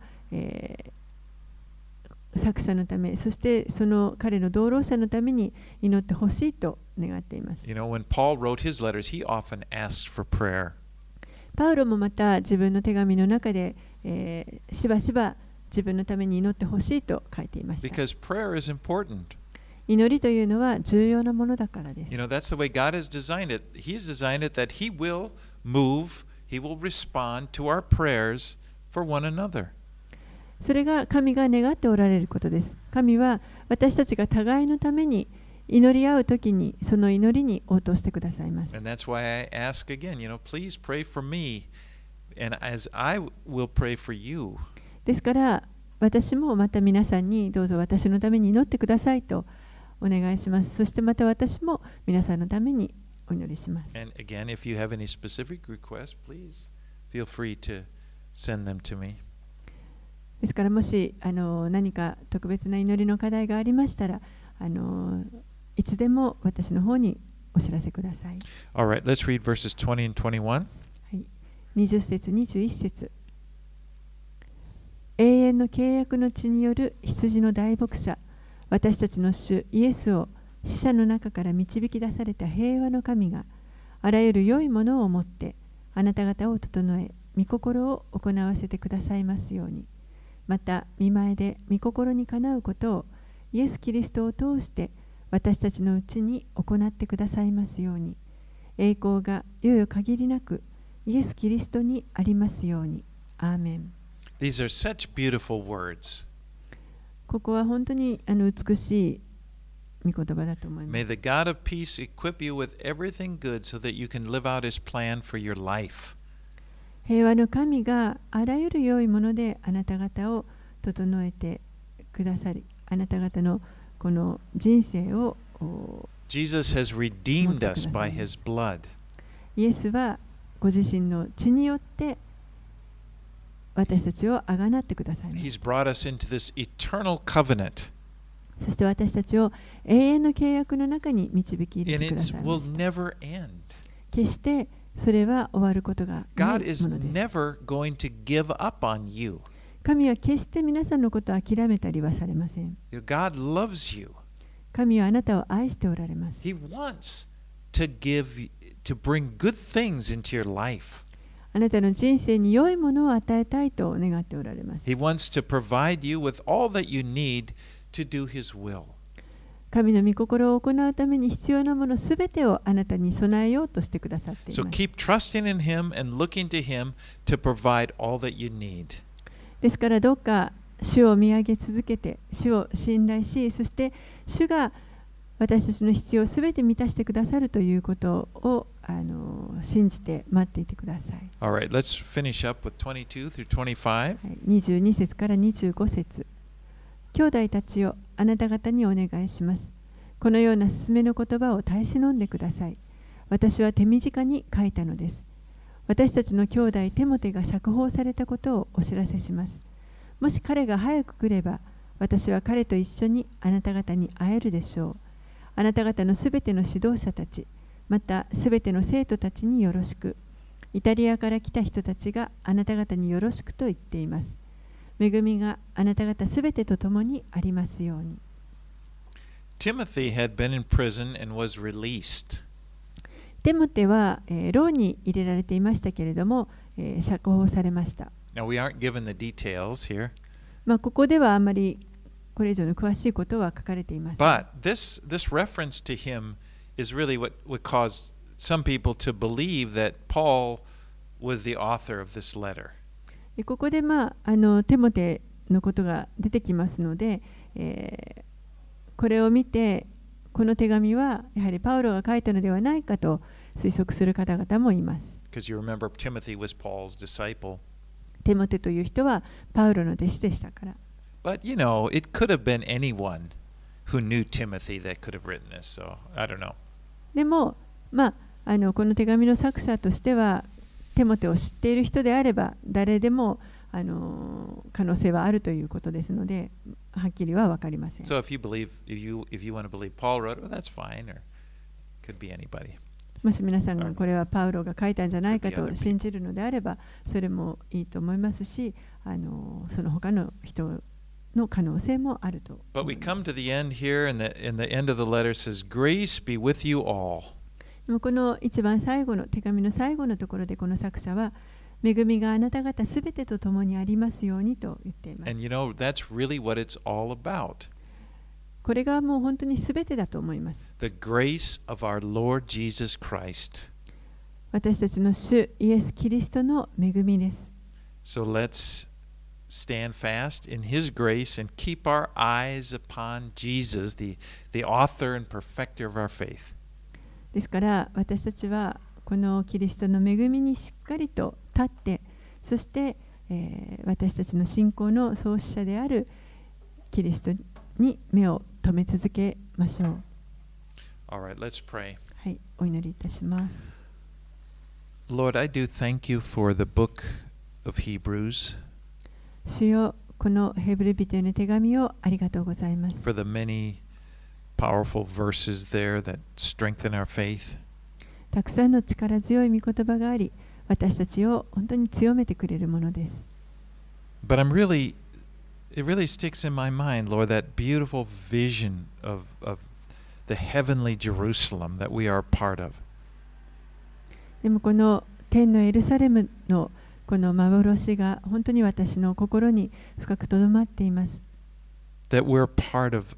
作者のため、そしてその彼の同労者のために祈ってほしいと願っています。 When Paul wrote his letters, he often asked for prayer. パウロもまた自分の手紙の中で、しばしば自分のために祈ってほしいと書いていました。 Because prayer is important. 祈りというのは重要なものだからです。 That's the way God has designed it. He's designed it that He will move, He will respond to our prayers for one another. それが神が願っておられることです。神は私たちが互いのために祈り合うときにその祈りに応答してくださいます。 And that's why I ask again, please pray for me, and as I will pray for you. ですから私もまた皆さんにどうぞ私のために祈ってくださいとお願いします。そしてまた私も皆さんのためにお祈りします。 And again, if you have any specific requests, please feel free to send them to me. ですからもし何か特別な祈りの課題がありましたらいつでも私の方にお知らせください。 All right, let's read verses 20 and 21. はい、20節21節。永遠の契約の地による羊の大牧者、私たちの主イエスを死者の中から導き出された平和の神があらゆる良いものをもってあなた方を整え御心を行わせてくださいますように、また御前で御心にかなうことをイエス・キリストを通して私たちのうちに行ってくださいますように、栄光がよよ限りなくイエス・キリストにありますように。アーメン。 These are such beautiful words. ここは本当に美しい御言葉だと思いま May す。 the God of peace equip you with everything good so that you can live out his plan for your life. 平和の神があらゆる良いものであなた方を整えてくださり、あなた方のこの人生を Jesus has redeemed us by his blood. イエスはご自身の血によって私たちをあがなってくださいます。 He's brought us into this eternal covenant, そして私たちを永遠の契約の中に導き入れ and てくだ it さい will ました。 never end. 決してそれは終わることがな God い is ものです。 never going to give up on you. 神は決して皆さんのことを諦めたりはされません。 God loves you. 神はあなたを愛しておられます。 He wants to bring good things into your life. あなたの人生に良いものを与えたいと願っておられます。 He wants to provide you with all that you need to do his will. 神の御心を行うために必要なものすべてをあなたに備えようとしてくださってい So ます。 keep trusting in him and looking to him to provide all that you need. ですからどうか主を見上げ続けて、主を信頼し、そして主が私たちの必要をすべて満たしてくださるということを信じて待っていてください。 All right, let's finish up with 22 through 25. はい、22節から25節。兄弟たちよ、あなた方にお願いします。このような勧めの言葉を耐え忍んでください。私は手短に書いたのです。私たちの兄弟テモテが釈放されたことをお知らせします。もし彼が早く来れば、私は彼と一緒にあなた方に会えるでしょう。あなた方のすべての指導者たち、またすべての生徒たちによろしく。イタリアから来た人たちがあなた方によろしくと言っています。恵みがあなた方すべてと共にありますように。 Timothy had been in prison and was released. テモテは、牢に入れられていましたけれども、釈放されました。 Now, we aren't given the details here, ここではあまりこれ以上の詳しいことは書かれていません。 but this reference to him is really what would cause some people to believe that Paul was the author of this letter. ここで、テモテのことが出てきますので、これを見てこの手紙はやはりパウロが書いたのではないかと推測する方々もいます。 Because you remember Timothy was Paul's disciple. テモテという人はパウロの弟子でしたから。 But you know, it could have been anyone who knew Timothy that could have written this. So I don't know. でも、この手紙の作者としてはテモテを知っている人であれば誰でも可能性はあるということですので、はっきりは分かりません。 So if you want to believe Paul wrote it, well, that's fine, or it could be anybody. もし皆さんがこれはパウロが書いたんじゃないかと信じるのであれば、それもいいと思いますし、その他の人の可能性もあると。 But we come to the end here, and the end of the letter says, "Grace be with you all." でもこの一番最後の手紙の最後のところでこの作者は、恵みがあなた方すべてと共にありますようにと言っています。 And you know, that's really what it's all about. これがもう本当にすべてだと思います。 The grace of our Lord Jesus Christ. 私たちの主イエス・キリストの恵みです。 So let's stand fast in His grace and keep our eyes upon Jesus, the author and perfecter of our faith. ですから私たちはこのキリストの恵みにしっかりと立って、そして、私たちの信仰の創始者であるキリストに目を留め続けましょう。 All right, let's pray. はい、お祈りいたします。 Lord, I do thank you for the book of Hebrews, 主よ、このヘブル人への手紙をありがとうございます。 for the many powerful verses there that strengthen our faith. たくさんの力強い御言葉があり、私たちを本当に強めてくれるものです。 But it really sticks in my mind, Lord, that beautiful vision of the heavenly Jerusalem that we are a part of. でもこの天のエルサレムのこの幻が本当に私の心に深くとどまっています。 That we're part of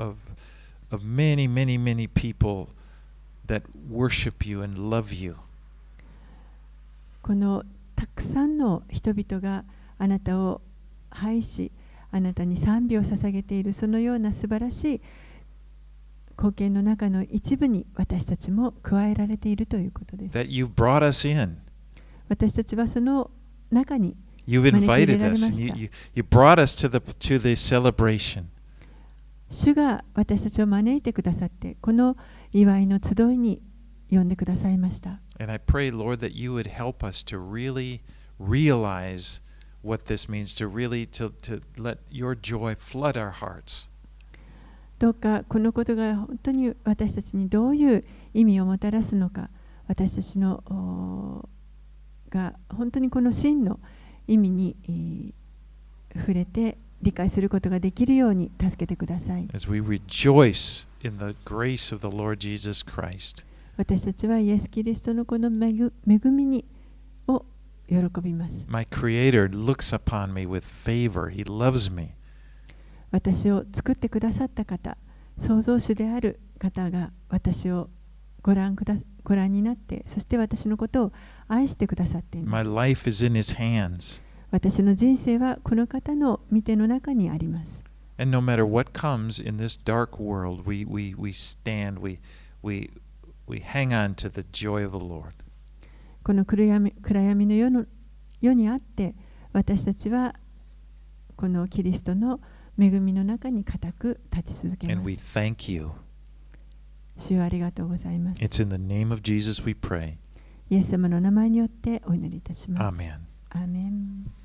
many, many, many people that worship you and love you. このたくさんの人々があなたを愛し、あなたに賛美を捧げているそのような素晴らしい貢献の中の一部に私たちも加えられているということです。 That you've brought us in. 私たちはその中に You've invited us. And you brought us to the celebration. 主が私たちを招いてくださって、この祝いの集いに呼んでくださいました。 And I pray, Lord, that you would help us to really realize what this means, to let your joy flood our hearts. どうかこのことが本当に私たちにどういう意味をもたらすのか、私たちのが本当にこの真の意味に触れて理解することができるように助けてください。 As we rejoice in the grace of the Lord Jesus Christ. 私たちはイエス・キリストのこの恵みにを喜びます。 My Creator looks upon me with favor. He loves me. 私を作ってくださった方、創造主である方が私をご覧になって、そして私のことを愛してくださっています。 My life is in His hands. 私の人生はこの方の御手の中にあります。 And no matter what comes in this dark world, we stand, we hang on to the joy of the Lord. この暗闇の世にあって、私たちはこのキリストの恵みの中に固く立ち続け And ま we す。 thank you. 主よありがとうございます。 It's in the name of Jesus we pray. イエス様の名前によってお祈りいたします。 Amen. アーメン。